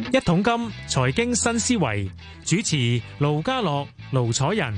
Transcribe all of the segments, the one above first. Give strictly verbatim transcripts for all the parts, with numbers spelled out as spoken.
一桶金財經新思維，主持盧家樂、盧楚仁。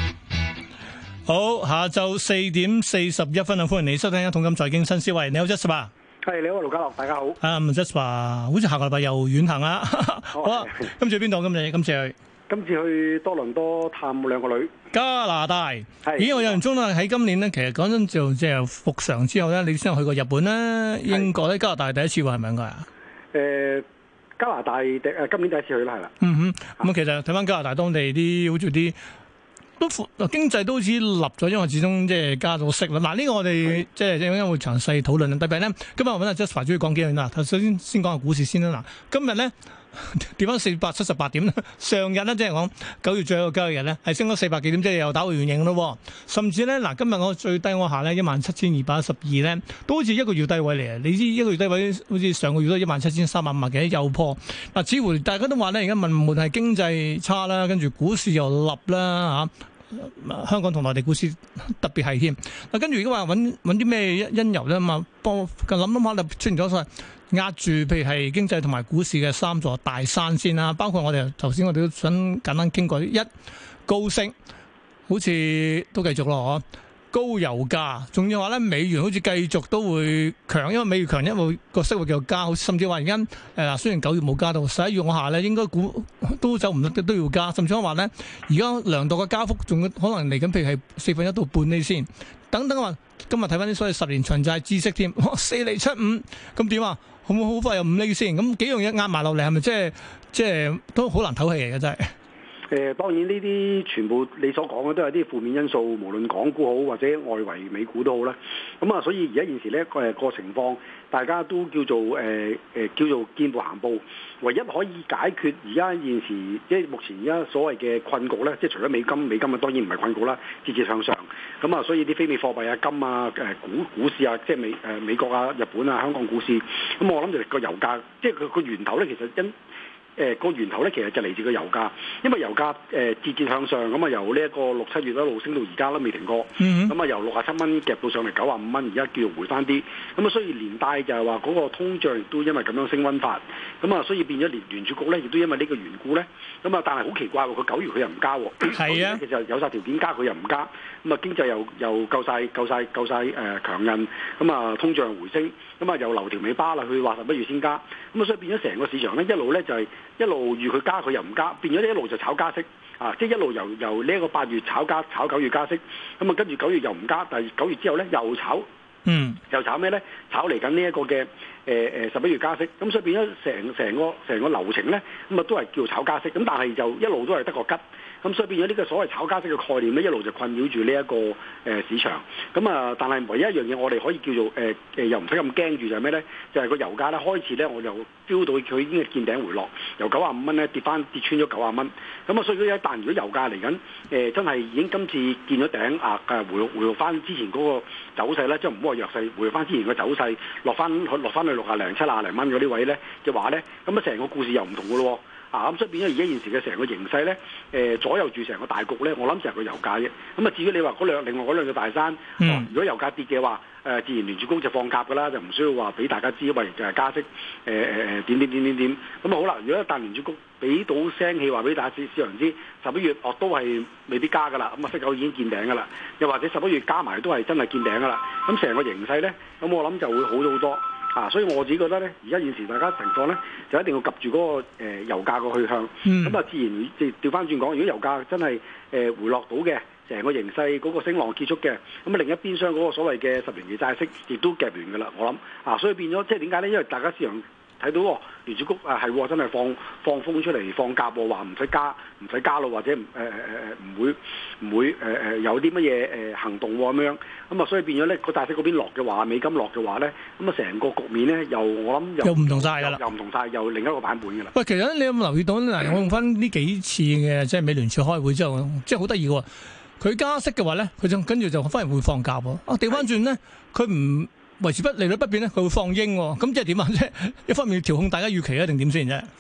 好，下晝四點四十一分啊！歡迎你收聽一桶金財經新思維。你好 Jasper， 係你好盧家樂，大家好。 啊、um, Jasper， 好似下個禮拜又遠行啦。好啊，今次去邊度？今日今次去？ 今次去多倫多探兩個女。 加拿大。 係。 咦，我印象中咧喺今年咧，其實講真就即係復常之後咧，你先去過日本啦、英國咧、加拿大第一次喎，係咪應該啊？ 誒、呃，加拿大第誒今年第一次去啦，係啦。 嗯哼，咁啊，其實睇翻加拿大當地啲好似啲。都經濟都好似立咗，因為始終即係加咗息啦。嗱，呢個我哋即係陣間會詳細討論。特別咧，今日我揾阿 Jasper 主要講幾樣啦。首先先講下股市先啦。嗱，今日咧跌翻四百七十八點啦。上日咧即係講九月最後一個交易日咧，係升咗四百幾點，即係又打回原形咯。甚至咧嗱，今日我最低嗰下咧一萬七千二百一十二咧，都好似一個月低位嚟啊！你知一個月低位好似上個月都一萬七千三百五十幾又破。嗱，似乎大家都話咧，而家問無論係經濟差啦，跟住股市又立啦嚇。香港同內地股市特別係添，嗱跟住如果話揾揾啲咩因由咧嘛，幫我諗諗下就出現咗所謂壓住，譬如係經濟同埋股市嘅三座大山先啦，包括我哋頭先我哋都想簡單傾過，一高息好似都繼續咯，高油價，仲要話咧美元好似繼續都會強，因為美元強，因為個息會繼續加，甚至話而家誒嗱，雖然九月冇加到，十一月我下咧應該估都走唔得，都要加，甚至話咧而家量度嘅加幅仲可能嚟緊，譬如係四分一到半厘先，等等話今日睇翻啲所謂十年長債孳息添，四厘七五，咁點啊？好唔好快有五厘先？咁幾樣嘢壓埋落嚟，係咪即係即係都好難唞氣嚟嘅真係？ 誒、呃、當然呢啲全部你所講嘅都係啲負面因素，無論港股好或者外圍美股都好啦。咁、嗯、啊，所以而家現時呢個誒個情況，大家都叫做誒誒、呃、叫做見步行步。唯一可以解決而家現時即係目前而家所謂嘅困局咧，即係除咗美金，美金啊當然唔係困局啦，節節向上。咁、嗯、啊，所以啲非美貨幣啊、金啊、誒股股市啊，即係美誒、呃、美國啊、日本啊、香港股市。咁、嗯、我諗就個油價，即係佢個源頭咧，其實因誒個、呃、源頭咧，其實就嚟自個油價，因為油價誒、呃、節節向上，咁啊由呢一個六七月一路升到而家都未停過，咁啊、mm hmm. 由六十七蚊夾到上嚟九十五蚊，而家叫做回翻啲，咁啊所以連帶就係話嗰個通脹亦都因為咁樣升溫法，咁啊所以變咗聯聯儲局咧亦都因為呢個緣故咧，咁啊但係好奇怪喎，佢九月佢又唔加喎，係啊，其實有晒條件加佢又唔加，咁啊經濟又又夠晒夠晒夠曬誒強韌，咁啊通脹回升，咁啊又留條尾巴啦，佢話十一月先加，咁啊所以變咗成個市場咧一路咧就係、是。一路預佢加佢又唔加，變咗呢一路就炒加息啊！即係一路由由呢一個八月炒加炒九月加息，咁啊跟住九月又唔加，但係九月之後咧又炒，嗯，又炒咩咧？炒嚟緊呢一個嘅誒誒十一月加息，咁所以變咗成成個成個流程咧，咁啊都係叫炒加息，咁但係就一路都係得個吉。咁所以變咗呢個所謂炒加息嘅概念咧，一路就困擾住呢一個誒、呃、市場。咁啊，但係唯一一樣嘢，我哋可以叫做誒誒、呃，又唔使咁驚住就係咩咧？就係、是、個油價咧開始咧，我就 feel 到佢已經係見頂回落，由九十五蚊咧跌翻跌穿咗九十蚊。咁啊，所以如果一旦如果油價嚟緊誒真係已經今次見咗頂啊，誒回回復翻之前嗰個走勢咧，即係唔好話弱勢，回復翻之前嘅走勢，落翻落翻去六廿零七廿零蚊嗰啲位咧嘅話咧，咁啊成個故事又唔同嘅咯。啊咁所以變咗而家現時嘅成個形勢咧，誒、呃、左右住成個大局咧，我諗就係個油價啫。咁啊至於你話嗰兩另外嗰兩個大山，嗯啊、如果油價跌嘅話，誒、呃、自然聯儲局就放鴿㗎啦，就唔需要話俾大家知，喂就係加息，誒誒誒點點點點點。咁啊好啦，如果一旦聯儲局俾到聲氣話俾大家市市場知，十一月哦都係未必加㗎啦，咁啊息口已經見頂㗎啦，又或者十一月加埋都係真係見頂㗎啦。咁成個形勢咧，咁我諗就會好咗好多。啊，所以我自己覺得咧，而家現時大家情況咧，就一定要及住嗰、那個、呃、油價個去向。咁啊、嗯，自然即調翻轉講，如果油價真係誒、呃、回落到嘅，成個形勢嗰個升浪結束嘅，咁啊另一邊廂嗰個所謂嘅十年期債息亦都夾完㗎啦。我諗啊，所以變咗即係點解咧？因為大家市場睇到喎，聯儲局啊係真係放放風出嚟放鴿喎，話唔使加唔使加咯，或者誒誒誒唔會唔會誒誒、呃、有啲乜嘢誒行動喎咁樣，咁啊所以變咗咧個債息嗰邊落嘅話，美金落嘅話咧，咁啊成個局面咧又我諗又唔同晒㗎啦，又唔同晒，又另一個版本㗎啦。喂， 其實你有冇留意到嗱？我用翻呢幾次嘅即係美聯儲開會之後，即係好得意喎。佢加息嘅話咧，佢就跟住就反而會放鴿喎。啊，調翻轉咧，佢唔維持不利率不變咧，佢會放鷹喎。咁即係點啊？即係一方面要調控大家預期啊，定點先啫？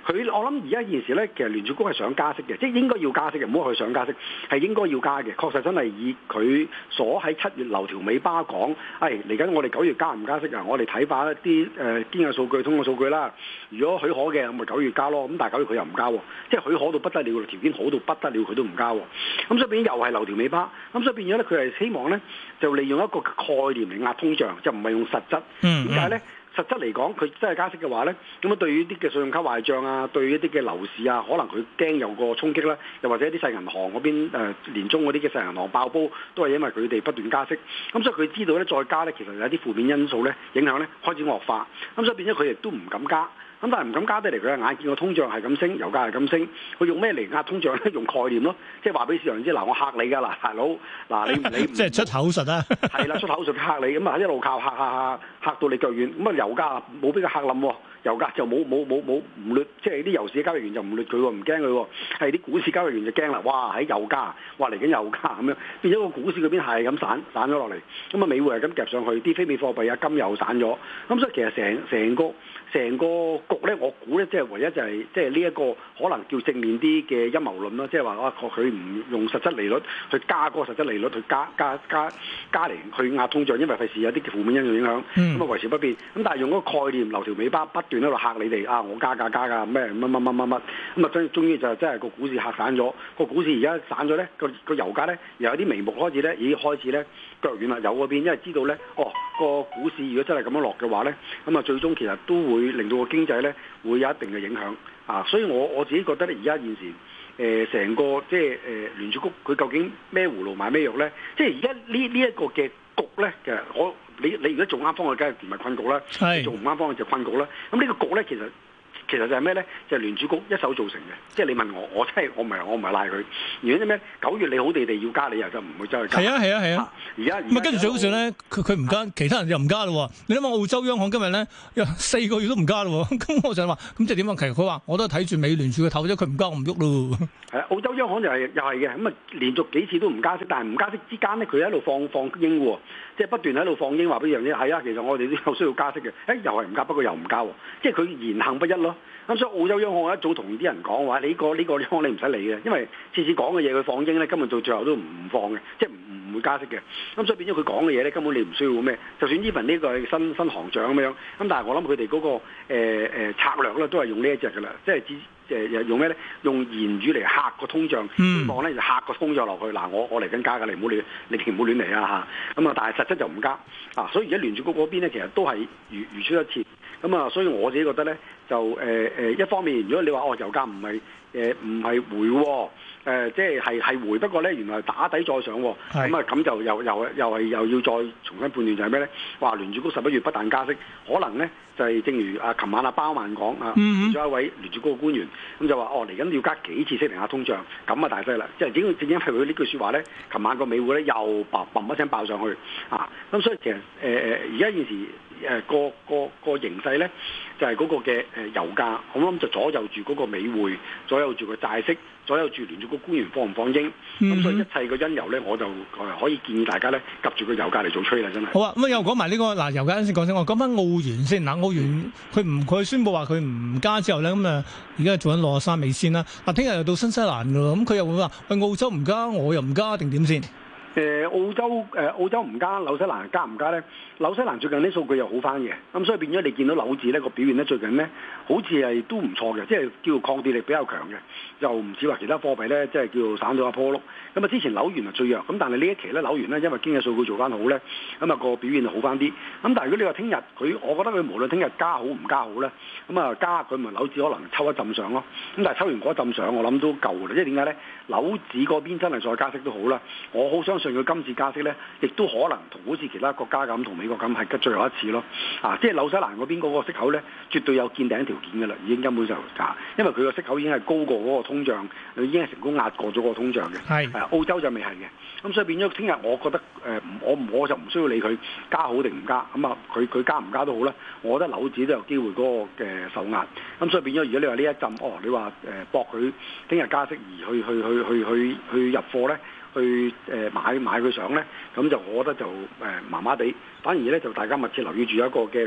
佢我諗而家現時咧，其實聯儲局係想加息嘅，即係應該要加息嘅，唔好話佢想加息，係應該要加嘅。確實真係以佢所喺七月留條尾巴講，係嚟緊我哋九月加唔加息啊？我哋睇翻一啲誒經濟數據、通過數據啦。如果許可嘅，咁咪九月加咯。咁但係九月佢又唔加喎，即係許可到不得了，條件好到不得了，佢都唔加喎。咁所以變咗又係留條尾巴。咁所以變咗咧，佢係希望咧就利用一個概念嚟壓通脹，就唔係用實質。點解咧？實質嚟講，佢真係加息嘅話咧，咁啊對於啲嘅信用卡壞帳啊，對於一啲嘅樓市啊，可能佢驚有個衝擊啦，又或者啲細銀行嗰邊誒、呃、年中嗰啲嘅細銀行爆煲，都係因為佢哋不斷加息。咁所以佢知道咧再加咧，其實有啲負面因素咧影響咧開始惡化。咁所以變咗佢亦都唔敢加。咁但係唔敢加得嚟，佢眼見個通脹係咁升，油價係咁升，佢用咩嚟壓通脹咧？用概念咯，即係話俾市場知，嗱我嚇你㗎，嗱大佬，嗱你你即係出口術啦， 係啦，出口術嚇你，咁啊一路靠嚇嚇嚇嚇到你腳軟，咁啊油價冇俾佢嚇冧喎，油價就冇冇冇冇唔劣，即係啲油市交易員就唔劣佢喎，唔驚佢喎，係啲股市交易員就驚啦，哇喺油價，哇嚟緊油價咁樣，變咗個股市嗰邊係咁散散咗落嚟，咁啊美匯係咁夾上去，啲非美貨幣啊金又散咗，咁所以其實成成個成個局咧，我估咧即係唯一就係即係呢一個可能叫正面啲嘅陰謀論啦，即係話啊佢唔用實質利率去加嗰個實質利率去加加加加嚟去壓通脹，因為費事有啲負面因素影響，咁啊、嗯、維持不變。咁但係用嗰個概念留條尾巴不斷喺度嚇你哋啊！我加價加價咩乜乜乜乜乜咁啊！終終於就真係個股市嚇散咗，個股市而家散咗咧，個個油價咧又有啲眉目開始咧，已經開始咧腳軟啦，油嗰邊因為知道咧，哦個股市如果真係咁樣落嘅話咧，咁啊最終其實都會令到個經濟咧會有一定嘅影響啊！所以我我自己覺得咧，而家現時誒成、呃、個即係誒、呃、聯儲局佢究竟咩葫蘆買咩藥咧？即係而家呢呢一個嘅局咧，其實我你你如果做啱方向，梗係唔係困局啦；是做唔啱方向就困局啦。咁呢個局咧，其實其實就係咩咧？就係、是、聯儲局一手造成嘅。即係你問我，我真係我唔係我唔係賴佢。如果啲咩九月你好地地要加，你又就唔會走去加。 係啊係啊係啊！ 而家咁啊跟住最好笑咧，佢佢唔加，其他人又唔加咯。你諗下澳洲央行今日咧，四個月都唔加咯。咁我就話，咁即係點啊？其實佢話我都係睇住美聯儲嘅頭啫，佢唔加我唔喐咯。係啊， 澳洲央行就係、是、又係嘅。咁啊，連續幾次都唔加息，但係唔加息之間咧，佢喺度放放鷹喎，即係不斷喺度放鷹話俾樣嘢。係啊，其實我哋都有需要加息嘅。誒，又係唔加，不過又唔加喎。即係佢言行不一咯。咁所以澳洲央行一早同啲人講話，你、呢個呢、呢個央行你唔使理嘅，因為次次講嘅嘢佢放鷹咧，根本到最後都唔放嘅，即係唔唔會加息嘅。咁所以變咗佢講嘅嘢咧，根本你唔需要咩。就算 even 呢個係新新行長咁樣，咁但係我諗佢哋嗰個誒、呃、策略咧，都係用呢一隻㗎啦，即係誒用咩咧？用言語嚟嚇個通脹，希望咧就嚇個通脹落去。嗱，我我嚟緊加㗎，你唔好亂，你哋唔好亂嚟啊嚇！咁啊，但係實質就唔加啊，所以而家聯儲局嗰邊咧，其實都係如如出一轍。咁啊，所以我自己覺得咧，就誒誒、呃、一方面，如果你話哦油價唔係誒唔係回喎、哦。誒、呃、即係係係回，不過咧原來係打底再上喎，咁啊咁就又又又係又要再重新判斷就係咩咧？話聯儲局十一月不但加息，可能咧就係、是、正如啊琴晚阿鮑曼講啊，咗、嗯、一位聯儲局嘅官員，咁就話哦嚟緊要加幾次息嚟壓通脹，咁啊大劑啦！即係正正因為佢呢句説話咧，琴晚個美匯咧又砰砰一聲爆上去啊！咁所以其實誒誒而家現時誒、呃、個個個形勢咧，就係、是、嗰個嘅誒油價，我諗就左右住嗰個美匯，左右住個債息。所有住聯儲局官員放唔放鷹，咁、嗯、所以一切個因由咧，我就可以建議大家咧，及住個油價嚟做吹啦，真係。 好啊，咁又講埋呢個嗱，油價先講先，我講翻澳元先嗱，澳元佢唔佢宣布話佢唔加之後咧，咁啊而家做緊六十三美仙啦，嗱聽日又到新西蘭㗎咯，咁佢又會話喂澳洲唔加，我又唔加定點先？ 誒、呃、澳洲誒、呃、澳洲唔加，紐西蘭加唔加咧？紐西蘭最近啲數據又好翻嘅，咁所以變咗你見到紐紙咧個表現咧最近咧好似係都唔錯嘅，即係叫抗跌力比較強嘅，又唔似話其他貨幣咧即係叫散到一坡碌。咁啊之前紐元係最弱，咁但係呢一期咧紐元咧因為經濟數據做翻好咧，咁啊個表現就好翻啲。咁但係如果你話聽日佢，我覺得佢無論聽日加好唔加好咧，咁啊加佢咪紐紙可能抽一浸上咯。咁但係抽完嗰一浸上，我諗都夠啦。即係點解咧？紐紙嗰邊真係再加息都好啦，我好相信佢今次加息咧，亦都可能同好似其他國家咁，同美國咁係最後一次咯。啊，即係紐西蘭嗰邊嗰個息口咧，絕對有見頂條件㗎啦，已經根本就啊，因為佢個息口已經係高過嗰個通脹，已經係成功壓過咗嗰個通脹嘅。係是、啊，澳洲就未係嘅。咁所以變咗聽日，我覺得誒、呃，我我就唔需要理佢加好定唔加。咁啊，佢佢加唔加都好啦。我覺得紐紙都有機會嗰個嘅受壓。咁所以變咗，如果你話呢一陣，哦，你話誒搏佢聽日加息而去去去去去去入貨咧？去誒買買佢上咧，咁就我覺得就誒麻麻地，反而咧就大家密切留意住一個嘅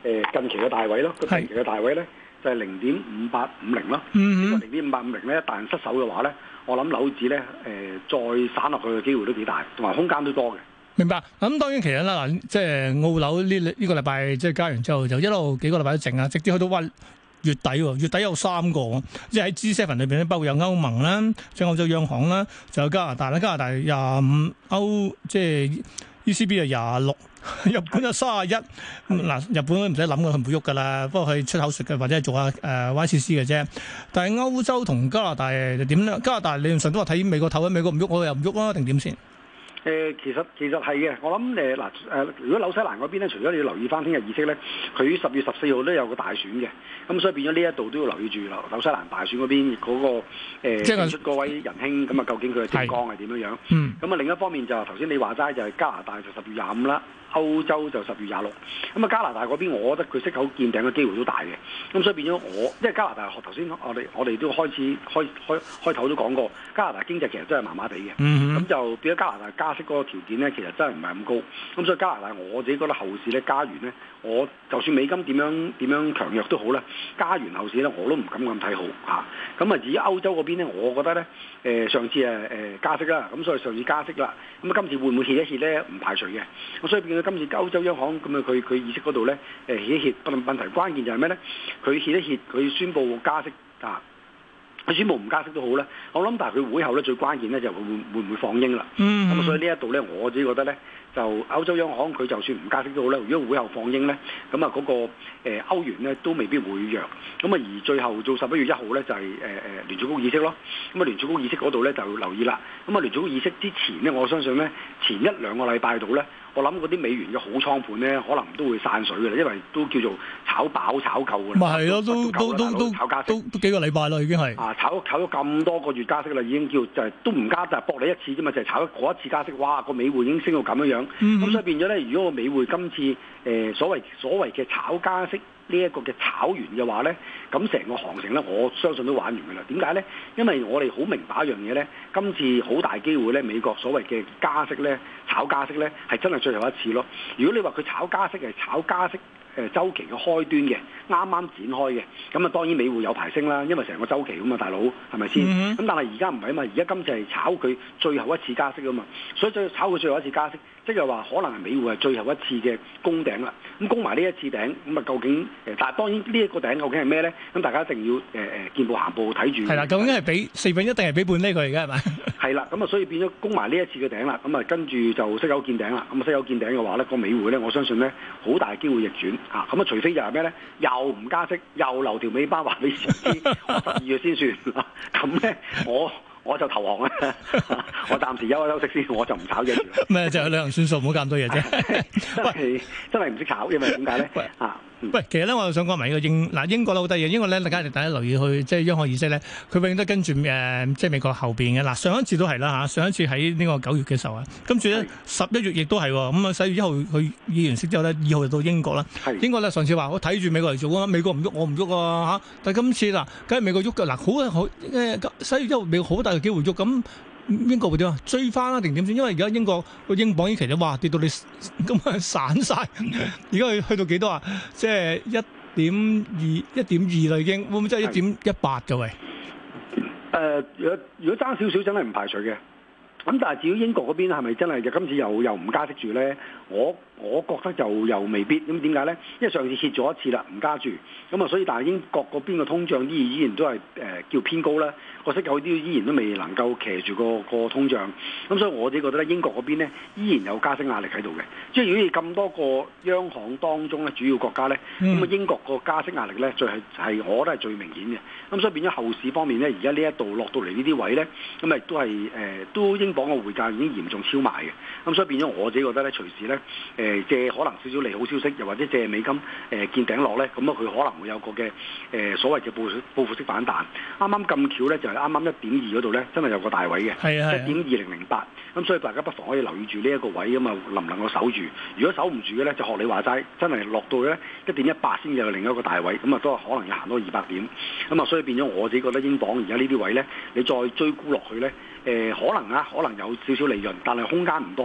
誒近期嘅大位咯，個近期嘅大位咧就係零點五八五零咯。 嗯呢個零點五八五零咧，一旦失手嘅話咧，我諗樓指咧誒再散落去嘅機會都幾大，同埋空間都多嘅。 明白。咁當然其實啦，嗱，即係澳樓呢呢個禮拜即係加完之後，就一路幾個禮拜都靜啊，直至去到話月底喎，月底有三個，即係喺 G 七 裏邊咧，包括有歐盟啦，即係歐洲央行啦，就有加拿大啦，加拿大廿五，歐即係 E C B 係廿六，日本有三十一。嗱，日本都唔使諗嘅，佢唔會喐噶啦，不過佢出口術嘅或者係做下誒 Y C C 嘅啫。但係歐洲同加拿大就點咧？加拿大理論上都話睇美國頭，美國唔喐，我又唔喐啦，定點先？ 誒、呃、其實其實係嘅，我諗誒嗱誒，如果紐西蘭嗰邊咧，除咗你要留意翻聽日議息咧，佢十月十四號都有個大選嘅，咁所以變咗呢一度都要留意住紐紐西蘭大選嗰邊嗰、那個誒、呃、即係出嗰位仁兄，咁啊究竟佢嘅政綱係點樣樣？嗯，咁啊另一方面就頭先你話齋就係加拿大就十月廿五啦。歐洲就十月廿六，咁啊加拿大嗰邊，我覺得佢息口見頂嘅機會都大嘅，咁所以變咗我，因為加拿大頭先我哋我哋都開始開開開頭都講過，加拿大經濟其實真係麻麻地嘅，咁、嗯、就變咗加拿大加息嗰個條件咧，其實真係唔係咁高，咁所以加拿大我自己覺得後市咧加完咧，我就算美金點樣點樣強弱都好啦，加完後市咧我都唔敢咁睇好嚇，咁啊至於歐洲嗰邊咧，我覺得咧誒、呃、上次誒誒、呃、加息啦，咁所以上次加息啦，咁啊今次會唔會歇一歇咧？唔排除嘅，咁所以變咗。今次歐洲央行咁啊，佢佢議息嗰度咧，誒歇一歇，不論問題關鍵就係咩咧？佢歇一歇，佢宣布加息啊，佢宣布唔加息都好咧。我諗，但係佢會後咧最關鍵咧就係會會唔會放鷹啦。咁、嗯、所以呢一度咧，我自己覺得咧，就歐洲央行佢就算唔加息都好咧，如果會後放鷹咧，咁啊嗰個誒歐元咧都未必會弱。咁啊而最後做十一月一號咧就係誒誒聯儲局議息咯。咁啊聯儲局議息嗰度咧就要留意啦。咁啊聯儲局議息之前咧，我相信咧前一兩個禮拜度咧。我諗嗰啲美元嘅好倉盤咧，可能都會散水嘅啦，因為都叫做炒飽炒夠嘅啦。 咪係咯，都都都都炒加息， 都都幾個禮拜啦，已經係啊， 炒炒咗咁多個月加息啦，已經叫就係、是、都唔加，就係、是、搏你一次啫嘛，就係、是、炒嗰一次加息，哇個美匯已經升到咁樣樣。咁、嗯、所以變咗咧，如果個美匯今次誒、呃、所謂所謂嘅炒加息呢一個嘅炒完嘅話咧，咁成個行情咧，我相信都玩完嘅啦。點解咧？因為我哋好明白一樣嘢咧，今次好大機會咧，美國所謂嘅加息咧，炒加息咧，係真係最後一次咯。如果你話佢炒加息係炒加息誒週期嘅開端嘅，啱啱展開嘅，咁啊當然美匯有排升啦，因為成個週期咁嘛，大佬係咪先？咁、mm hmm. 但係而家唔係啊嘛，而家今次係炒佢最後一次加息啊嘛，所以就炒佢最後一次加息，即係話可能係美匯係最後一次嘅攻頂啦。咁攻埋呢一次頂，咁啊究竟誒？但係當然呢一個頂究竟係咩咧？咁大家一定要誒誒、呃、見步行步睇住。係啦， 究竟係俾四分一定係俾半呢個嚟嘅係咪？ 係啦，咁啊所以變咗攻埋呢一次嘅頂啦，咁啊跟住就息口見頂啦。咁啊息口見頂嘅話咧，個美匯咧，我相信咧好大機會逆轉啊！咁啊除非就係咩咧？又唔加息，又留條尾巴話俾市知，我十二月先算。咁咧我。我就投降啦，我暫時休一休息先，我就唔炒嘢住。 咩就係旅行算數，唔好咁多嘢啫。 喂，真係唔識炒，因為點解咧？啊， 喂，其實咧，我又想講埋呢個英嗱英國咧好得意，英國咧大家大家留意去即係央行議息咧，佢永遠都跟住誒、呃、即係美國後邊嘅嗱。上一次都係啦嚇，上一次喺呢個九月嘅時候啊，跟住咧十一月亦都係喎。咁啊，十一月一號佢議完息之後咧，二號就到英國啦。是英國咧上次話我睇住美國嚟做啊，美國唔喐我唔喐啊嚇。但係今次嗱，梗係美國喐㗎嗱，好好誒十一月一號美國好大機會喐，咁英國會點啊？追翻啦定點先？因為而家英國個英鎊已經其實哇跌到你咁啊散晒，而家去去到幾多啊？即係一點二一點二啦已經，會唔會真係一點一八嘅喂？ 誒，如果如果爭少少真係唔排除嘅。咁但係至於英國嗰邊係咪真係就今次又又唔加息住咧？我我覺得就又未必。咁點解咧？因為上次歇咗一次啦，唔加住。咁啊，所以但係英國嗰邊嘅通脹依依然都係誒、呃、叫偏高啦。個息口啲依然都未能夠騎住個個通脹。咁所以我自己覺得咧，英國嗰邊咧依然有加息壓力喺度嘅。即係如果你咁多個央行當中咧，主要國家咧，咁啊、嗯、英國個加息壓力咧，最係係我覺得係最明顯嘅。咁所以變咗後市方面咧，而家呢一度落到嚟呢啲位咧，咁亦都係誒、呃、都英鎊嘅匯價已經嚴重超賣嘅。咁所以變咗我自己覺得咧，隨時咧誒、呃、借可能少少利好消息，又或者借美金誒、呃、見頂落咧，咁啊佢可能會有個嘅誒、呃、所謂嘅報報復式反彈。啱啱咁巧咧，就係啱啱一點二嗰度咧，真係有個大位嘅， 係啊， 一點二零零八。咁所以大家不妨可以留意住呢一個位咁啊，能唔能夠守住？如果守唔住嘅咧，就學你話齋，真係落到咧一點一八先有另一個大位，咁啊都可能要行多二百點。咁啊，所以變咗我自己覺得英鎊而家呢啲位咧，你再追沽落去咧，誒、呃、可能啊，可能有少少利潤，但係空間唔多咯。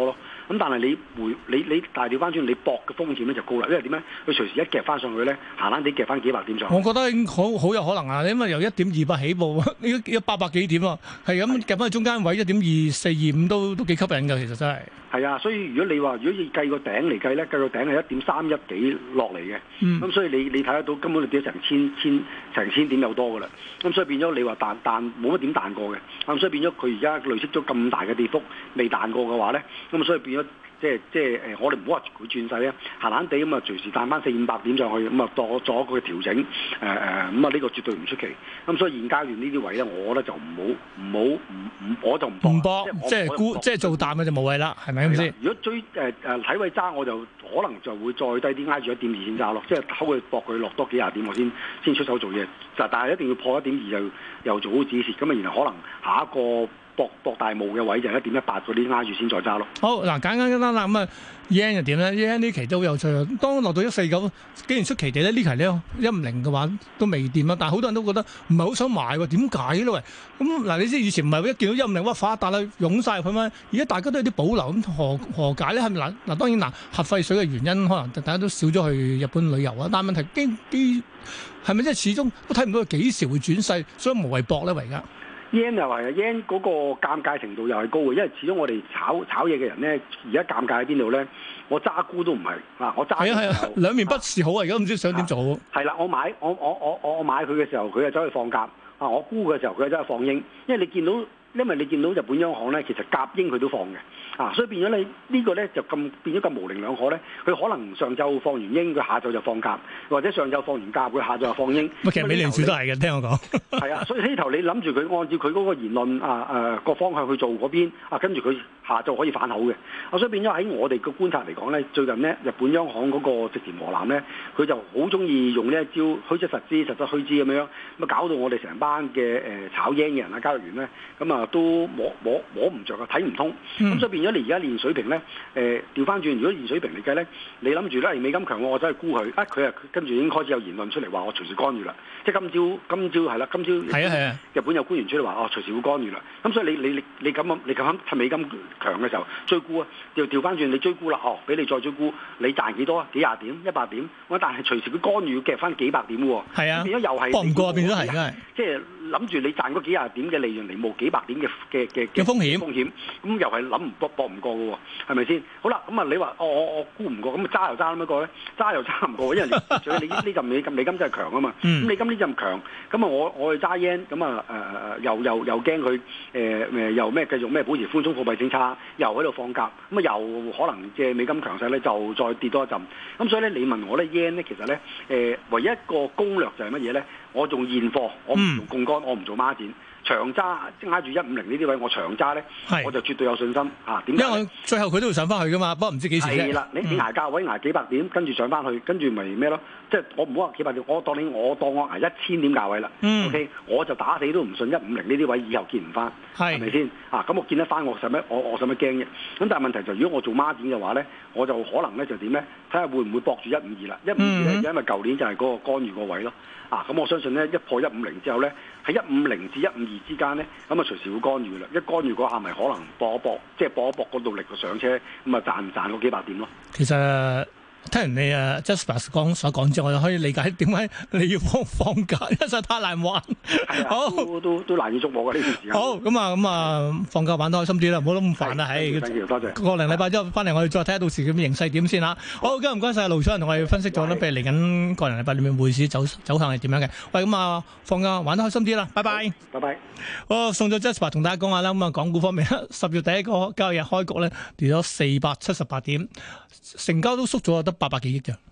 咁但係你回你你大調翻轉，你搏嘅風險咧就高啦，因為點咧？佢隨時一夾翻上去咧，閒閒地夾翻幾百點上去。 我覺得已經好好有可能啊，因為由一點二八起步，呢一八百幾點啊，係咁夾翻去中間位一點二四二五都都幾吸引㗎，其實真係。 係啊，所以如果你話如果要計個頂嚟計咧，計個頂係一點三一幾落嚟嘅，咁、嗯、所以你你睇得到根本你跌咗成千千成千點有多㗎啦，咁所以變咗你話彈彈冇乜點彈過嘅，咁所以變咗佢而家累積咗咁大嘅跌幅未彈過嘅話咧，咁所以變咗。即係即係誒，我哋唔好話佢轉勢啊，閒閒地咁啊，隨時彈翻四五百點上去，咁啊作作一個調整，誒誒，咁啊呢個絕對唔出奇。咁所以現階段呢啲位咧，我覺得就唔好唔好唔唔，我就唔唔搏，即係沽，即係做淡嘅就冇謂啦，係咪咁先？ 如果追誒誒睇位揸，我就可能就會再低啲挨住一點二先揸咯，即係偷佢搏佢落多幾廿點，我先先出手做嘢。就但係一定要破一點二就又做好止蝕，咁啊然後可能下一個。博博大霧嘅位就一點一八嗰啲挨住先再揸咯。好嗱，簡簡單單啦，咁啊 yen 又點咧 ？yen 呢期都好有趣啊！當落到一四九，既然出奇地咧，呢期咧一五零嘅話都未掂啊！但係好多人都覺得唔係好想買喎，點解咧？喂，咁嗱，你知以前唔係一見到一五零哇發達啦，湧晒入去咩？而家大家都有啲保留，咁何何解咧？係咪嗱嗱？當然嗱，核廢水嘅原因可能大家都少咗去日本旅遊啊，但係問題基基係咪即係始終都睇唔到佢幾時會轉勢，所以無謂搏咧，而家。 yen 又係啊 yen 嗰個尷尬程度又係高嘅，因為始終我哋炒炒嘢嘅人咧，而家尷尬喺邊度咧？我揸沽都唔係啊，我揸係啊係啊， 兩面不是好啊！而家唔知想點做好。 係啦，我買我我我我我買佢嘅時候，佢就走去放鴿啊！我沽嘅時候，佢就走去放鷹，因為你見到。因為你見到日本央行咧，其實鴿鷹佢都放嘅，啊，所以變咗你、這個、呢個咧就咁變咗咁模棱兩可咧。佢可能上晝放完鷹，佢下晝就放鴿，或者上晝放完鴿，佢下晝就放鷹。 其實美聯儲都係嘅，聽我講。係啊，所以呢頭你諗住佢按照佢嗰個言論啊誒個、啊、方向去做嗰邊啊，跟住佢下晝可以反口嘅。啊，所以變咗喺我哋嘅觀察嚟講咧，最近咧日本央行嗰個植田和男咧，佢就好中意用呢一招虛則實之，實則虛之咁樣，咁啊搞到我哋成班嘅誒炒鷹嘅人啊交易員咧，咁啊〜都摸摸摸唔着啊，睇唔通，咁、嗯、所以變咗你而家練水平咧，誒調翻轉，如果練水平嚟計咧，你諗住咧美金強，我真係沽佢，啊佢啊跟住已經開始有言論出嚟話我隨時干預啦，即係今朝今朝係啦，今朝係啊係啊，日本有官員出嚟話哦隨時會干預啦，咁所以你你你你咁啊你咁趁美金強嘅時候追沽啊，調調翻轉你追沽啦，哦俾你再追沽，你賺幾多啊？幾廿點一百點，我但係隨時佢干預要夾翻幾百點喎，係啊，變咗又係搏唔過變咗係真係， 即係諗住你賺嗰幾廿點嘅利潤嚟冒幾百點嘅嘅嘅嘅風險， 風險咁又係諗唔搏搏唔過嘅喎，係咪先？好啦，咁啊你話哦我我估唔過，咁啊揸又揸咁一個咧，揸又揸唔過，因為你你呢陣美金美金真係強啊嘛，咁美金呢陣強，咁啊我我去揸 yen，咁啊誒誒又又又驚佢誒誒又咩繼續咩保持寬鬆貨幣政策，又喺度放鴿，咁啊又可能借美金強勢咧就再跌多一陣，咁所以咧你問我咧 yen 咧其實咧誒、呃、唯一一個攻略就係乜嘢咧？我用現貨，我唔用槓桿，我唔做孖展。長揸即係挨住一五零呢啲位，我長揸咧，我就絕對有信心嚇。點解？因為最後佢都要上翻去噶嘛，不過唔知幾時啫。 係啦，你你捱價位捱幾百點，跟住上翻去，跟住咪咩咯？即係我唔好話幾百點，我當你我當我捱一千點價位啦。嗯、O、okay? K， 我就打死都唔信一五零呢啲位以後見唔翻，係咪先？啊，咁我見得翻我使乜？我我使乜驚嘅？咁但係問題就如果我做孖展嘅話咧，我就可能咧就點咧？睇下會唔會搏住一五二啦？一五二咧，因為舊年就係嗰個干預個位咯。啊，咁我相信咧一破一五零之後咧，喺一五零至一五二之間咧，咁啊隨時會干預啦。一干預嗰下咪可能搏一搏，即係搏一搏嗰度力個上車，咁啊賺唔賺嗰幾百點咯。 其實聽完你啊 Jasper 講所講之後，我就可以理解點解你要放放假，因為實在太難玩。 係啊，好都都都難以捉摸嘅呢段時間。 好，咁啊咁啊放假玩得開心啲啦，唔好咁煩啦。係， 多謝。 個零禮拜之後翻嚟，我哋再睇下到時嘅形勢點先嚇。好，今日唔該曬盧楚仁同我哋分析咗咧，譬如嚟緊個零禮拜裏面匯市走走向係點樣嘅。喂，咁啊放假玩得開心啲啦，拜拜。 拜拜。 好，送咗 Jasper 同大家講下啦。咁啊，港股方面，十月第一個交易日開局咧跌咗四百七十八點，成交都縮咗得八百幾億嘅。